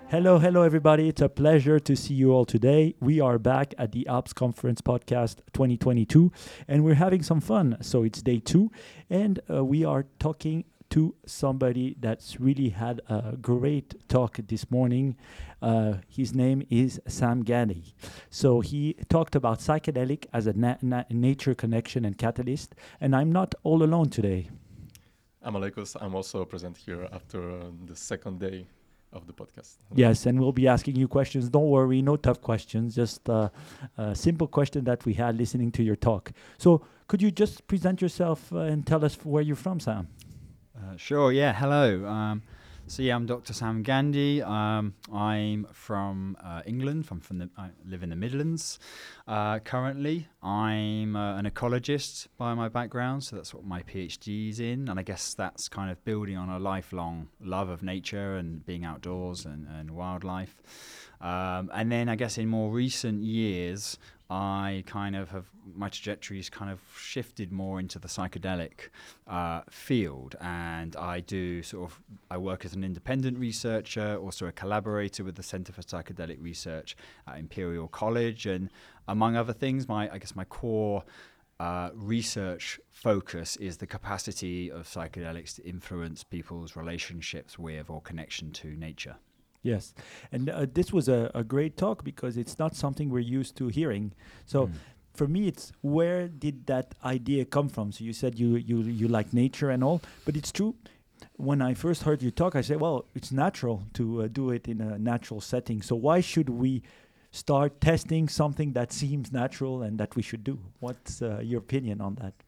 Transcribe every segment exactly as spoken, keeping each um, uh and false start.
Hello, hello, everybody. It's a pleasure to see you all today. We are back at the Ops Conference Podcast twenty twenty-two, and we're having some fun. So it's day two, and uh, we are talking to somebody that's really had a great talk this morning. Uh, his name is Sam Gandy. So he talked about psychedelic as a na- na- nature connection and catalyst, and I'm not all alone today. I'm Alekos. I'm also present here after uh, the second day of the podcast. Yes, and we'll be asking you questions. Don't worry, no tough questions, just uh, a simple question that we had listening to your talk. So, could you just present yourself uh, and tell us where you're from, Sam? Uh, sure, yeah, hello. Um, so, yeah, I'm Doctor Sam Gandy. Um, I'm from uh, England. I'm from the, I live in the Midlands uh, currently. I'm uh, an ecologist by my background, so that's what my PhD's in. And I guess that's kind of building on a lifelong love of nature and being outdoors and, and wildlife. Um, and then I guess in more recent years, I kind of have, my trajectory's kind of shifted more into the psychedelic uh, field, and I do sort of, I work as an independent researcher, also a collaborator with the Centre for Psychedelic Research at Imperial College, and among other things, my, I guess my core uh, research focus is the capacity of psychedelics to influence people's relationships with or connection to nature. Yes, and uh, this was a, a great talk because it's not something we're used to hearing. So, mm. for me, it's where did that idea come from? So you said you you you like nature and all, but it's true. When I first heard you talk, I said, well, it's natural to uh, do it in a natural setting. So why should we start testing something that seems natural and that we should do? What's uh, your opinion on that?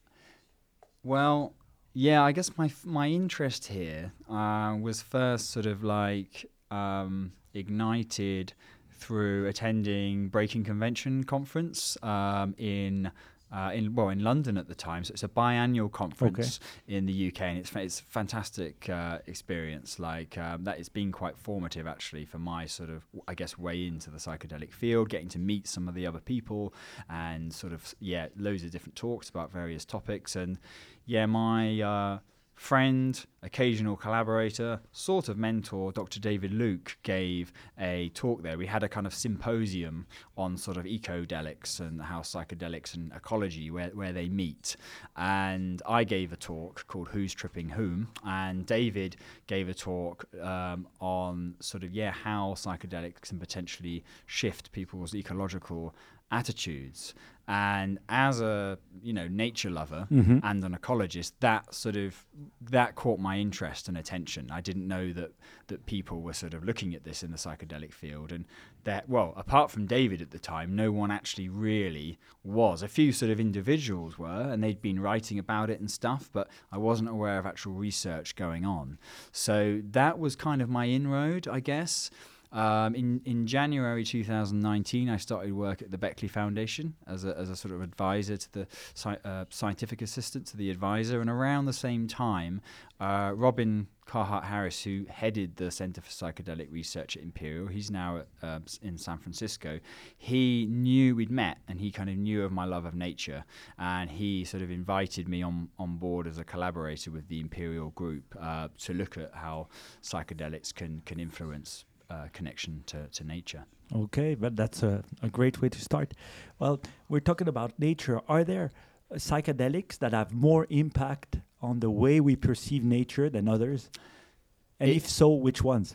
Well, yeah, I guess my f- my interest here uh, was first sort of like um, ignited through attending Breaking Convention conference um, in uh, in well in London at the time. So it's a biannual conference okay. in the U K, and it's fa- it's a fantastic uh, experience. Like um, that, it's been quite formative actually for my sort of I guess way into the psychedelic field, getting to meet some of the other people, and sort of yeah, loads of different talks about various topics. And yeah, my uh, friend, occasional collaborator, sort of mentor, Doctor David Luke, gave a talk there. We had a kind of symposium on sort of ecodelics and how psychedelics and ecology, where, where they meet. And I gave a talk called Who's Tripping Whom? And David gave a talk um, on sort of, yeah, how psychedelics can potentially shift people's ecological attitudes. And as a you know nature lover mm-hmm. and an ecologist, that sort of that caught my interest and attention. I didn't know that that people were sort of looking at this in the psychedelic field, and that well, apart from David at the time, no one actually really was. A few sort of individuals were, and they'd been writing about it and stuff, but I wasn't aware of actual research going on. So that was kind of my inroad, I guess. Um, in, in January two thousand nineteen, I started work at the Beckley Foundation as a, as a sort of advisor to the sci- uh, scientific assistant to the advisor. And around the same time, uh, Robin Carhart-Harris, who headed the Center for Psychedelic Research at Imperial, he's now at, uh, in San Francisco, he knew we'd met, and he kind of knew of my love of nature, and he sort of invited me on, on board as a collaborator with the Imperial group uh, to look at how psychedelics can, can influence Uh, connection to, to nature. Okay, but that's a, a great way to start. Well, we're talking about nature. Are there uh, psychedelics that have more impact on the way we perceive nature than others? And it, if so, which ones?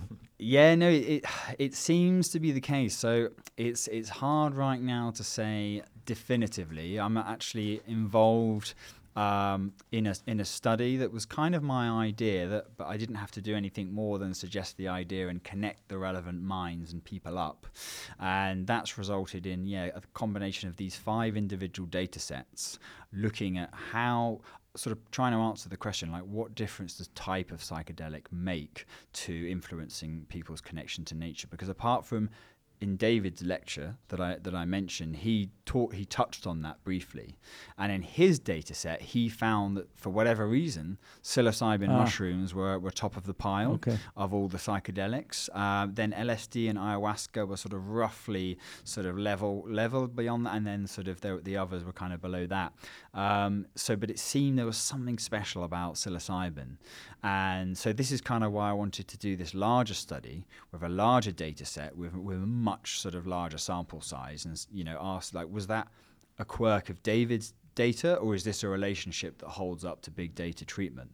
yeah, no, it it seems to be the case. So it's it's hard right now to say definitively. I'm actually involved Um, in a in a study that was kind of my idea, that but I didn't have to do anything more than suggest the idea and connect the relevant minds and people up, and that's resulted in yeah a combination of these five individual data sets, looking at how sort of trying to answer the question like what difference does type of psychedelic make to influencing people's connection to nature, because apart from in David's lecture that I that I mentioned, he taught he touched on that briefly, and in his data set, he found that for whatever reason, psilocybin Ah. mushrooms were, were top of the pile Okay. of all the psychedelics. Um, then L S D and ayahuasca were sort of roughly sort of level level beyond that, and then sort of the, the others were kind of below that. Um, so, but it seemed there was something special about psilocybin, and so this is kind of why I wanted to do this larger study with a larger data set with with a much sort of larger sample size, and you know, ask like, was that a quirk of David's data, or is this a relationship that holds up to big data treatment?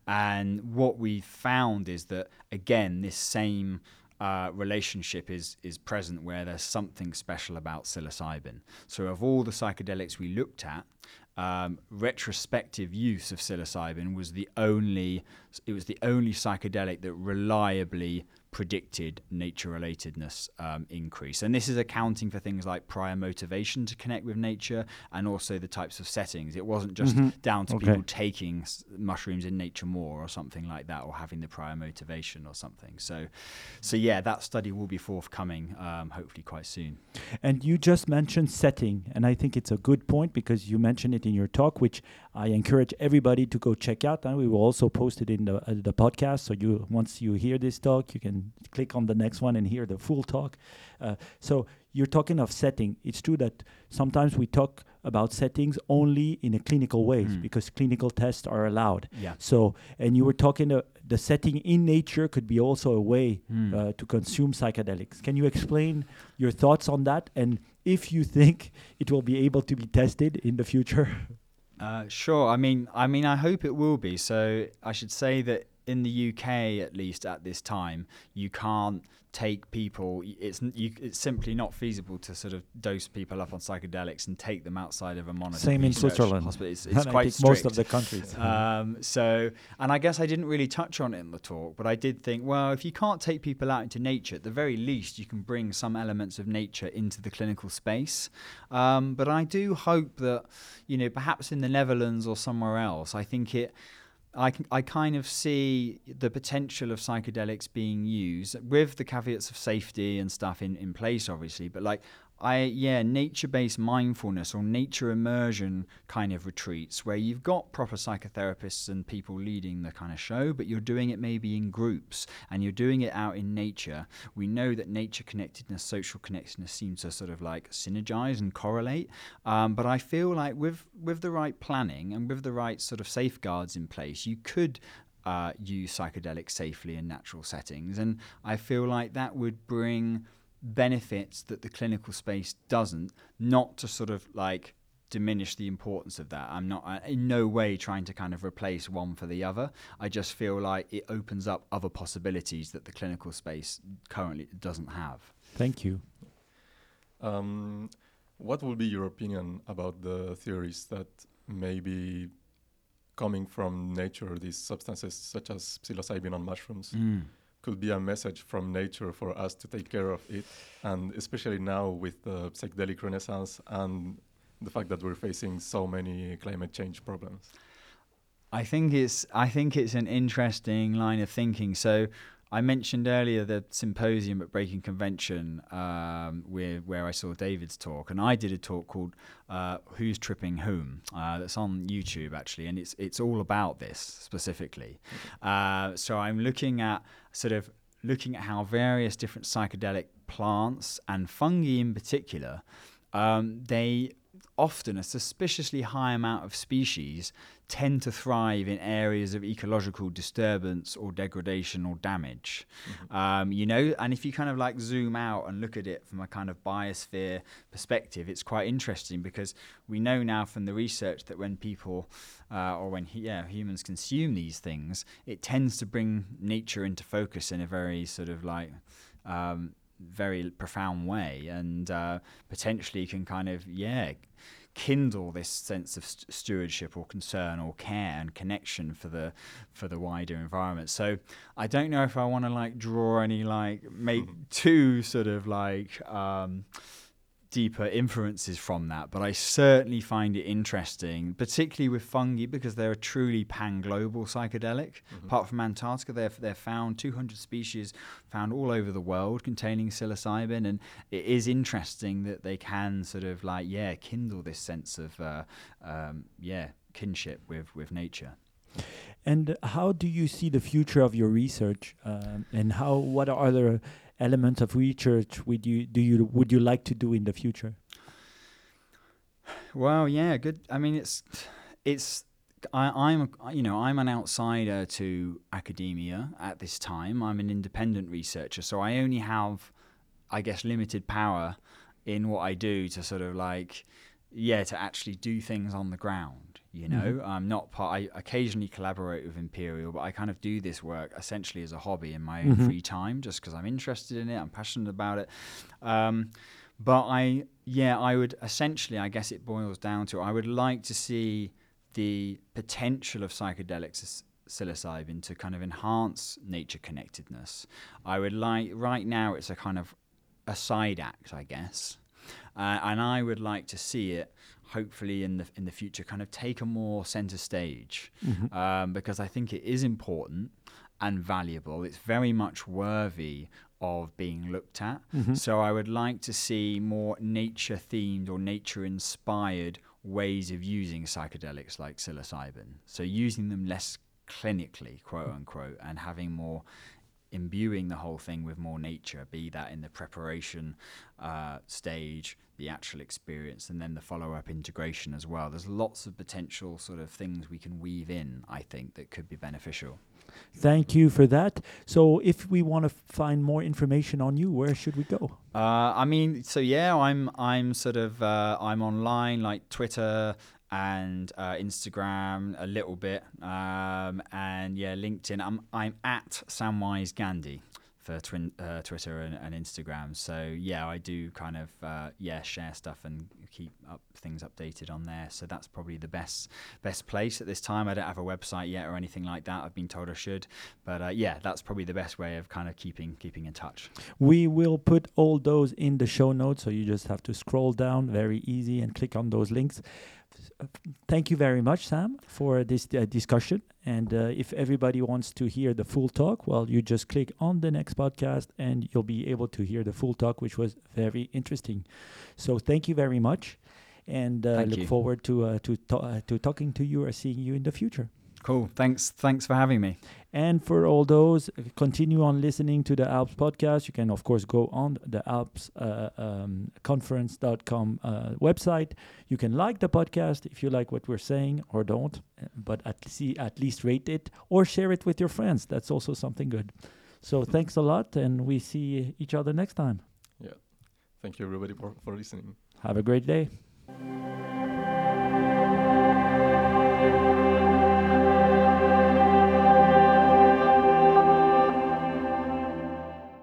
And what we found is that, again, this same uh, relationship is is present, where there's something special about psilocybin. So of all the psychedelics we looked at, um, retrospective use of psilocybin was the only it was the only psychedelic that reliably predicted nature-relatedness um, increase. And this is accounting for things like prior motivation to connect with nature, and also the types of settings. It wasn't just Mhm. down to Okay. people taking s- mushrooms in nature more or something like that, or having the prior motivation or something. So, so yeah, that study will be forthcoming, um, hopefully quite soon. And you just mentioned setting, and I think it's a good point because you mentioned it in your talk, which I encourage everybody to go check out. And we will also post it in the uh, the podcast. So you once you hear this talk, you can click on the next one and hear the full talk. Uh, so you're talking of setting. It's true that sometimes we talk about settings only in a clinical ways Mm. because clinical tests are allowed. Yeah. So, and you were talking, uh, the setting in nature could be also a way Mm. uh, to consume psychedelics. Can you explain your thoughts on that, and if you think it will be able to be tested in the future? Uh, sure. I mean, I mean, I hope it will be. So I should say that in the U K, at least at this time, you can't take people. y- It's n- you, it's simply not feasible to sort of dose people up on psychedelics and take them outside of a monitored Same in research Switzerland. hospital. It's, And it's I quite think most of strict. the countries. Um, so, and I guess I didn't really touch on it in the talk, but I did think, well, if you can't take people out into nature, at the very least, you can bring some elements of nature into the clinical space. Um, but I do hope that, you know, perhaps in the Netherlands or somewhere else, I think it. I, can, I kind of see the potential of psychedelics being used with the caveats of safety and stuff in, in place, obviously. But like, I yeah, nature-based mindfulness or nature immersion kind of retreats where you've got proper psychotherapists and people leading the kind of show, but you're doing it maybe in groups and you're doing it out in nature. We know that nature connectedness, social connectedness seem to sort of like synergize and correlate. Um, but I feel like with with the right planning and with the right sort of safeguards in place, you could uh, use psychedelics safely in natural settings. And I feel like that would bring benefits that the clinical space doesn't, not to sort of like diminish the importance of that. I'm not uh, in no way trying to kind of replace one for the other. I just feel like it opens up other possibilities that the clinical space currently doesn't have. Thank you. Um, what will be your opinion about the theories that maybe coming from nature, these substances such as psilocybin on mushrooms, Mm. could be a message from nature for us to take care of it, and especially now with the psychedelic renaissance and the fact that we're facing so many climate change problems? I think it's I think it's an interesting line of thinking. So I mentioned earlier the symposium at Breaking Convention, um, where where I saw David's talk, and I did a talk called uh, "Who's Tripping Whom?" Uh, that's on YouTube actually, and it's it's all about this specifically. Uh, so I'm looking at sort of looking at how various different psychedelic plants and fungi in particular, um, they often a suspiciously high amount of species tend to thrive in areas of ecological disturbance or degradation or damage. Mm-hmm. Um, you know, and if you kind of like zoom out and look at it from a kind of biosphere perspective, it's quite interesting because we know now from the research that when people uh, or when yeah humans consume these things, it tends to bring nature into focus in a very sort of like um, very profound way, and uh, potentially can kind of yeah kindle this sense of st- stewardship or concern or care and connection for the for the wider environment. So I don't know if I want to like draw any like make too sort of like um deeper inferences from that, but I certainly find it interesting, particularly with fungi, because they're a truly pan-global psychedelic. Mm-hmm. Apart from Antarctica, they're, they're found, two hundred species found all over the world containing psilocybin, and it is interesting that they can sort of like, yeah, kindle this sense of, uh, um, yeah, kinship with, with nature. And how do you see the future of your research, um, and how what are other elements of research would you do you would you like to do in the future? Well, yeah, good. I mean, it's it's I, I'm a- you know I'm an outsider to academia at this time. I'm an independent researcher, so I only have, I guess, limited power in what I do to sort of like, yeah, to actually do things on the ground. You know, Mhm. I'm not part. I occasionally collaborate with Imperial, but I kind of do this work essentially as a hobby in my own Mhm. free time, just because I'm interested in it. I'm passionate about it. Um, but I, yeah, I would essentially, I guess it boils down to, I would like to see the potential of psychedelics as psilocybin to kind of enhance nature connectedness. I would like, right now it's a kind of a side act, I guess. Uh, and I would like to see it, hopefully in the in the future, kind of take a more center stage, Mhm. um, because I think it is important and valuable. It's very much worthy of being looked at. Mhm. So I would like to see more nature-themed or nature-inspired ways of using psychedelics like psilocybin. So using them less clinically, quote unquote, and having more, imbuing the whole thing with more nature, be that in the preparation uh, stage, the actual experience, and then the follow-up integration as well. There's lots of potential sort of things we can weave in, I think, that could be beneficial. Thank you for that. So, if we want to find more information on you, where should we go? Uh, I mean, so yeah, I'm I'm sort of uh, I'm online, like Twitter and uh, Instagram a little bit, um, and yeah, LinkedIn. I'm I'm at Samwise Gandhi for twin, uh, Twitter and, and Instagram. So yeah, I do kind of uh, yeah share stuff and keep up things updated on there. So that's probably the best best place at this time. I don't have a website yet or anything like that. I've been told I should, but uh, yeah, that's probably the best way of kind of keeping keeping in touch. We will put all those in the show notes, so you just have to scroll down, very easy, and click on those links. Uh, Thank you very much, Sam, for this uh, discussion. And uh, if everybody wants to hear the full talk, well, you just click on the next podcast and you'll be able to hear the full talk, which was very interesting. So thank you very much, and uh, Thank look you. forward to uh, to to, uh, to talking to you or seeing you in the future. Cool. Thanks. Thanks for having me. And for all those, uh, continue on listening to the Alps podcast. You can, of course, go on the Alps uh, um, conference dot com uh, website. You can like the podcast if you like what we're saying, or don't, uh, but at, see, at least rate it or share it with your friends. That's also something good. So thanks a lot, and we see each other next time. Yeah. Thank you, everybody, for, for listening. Have a great day.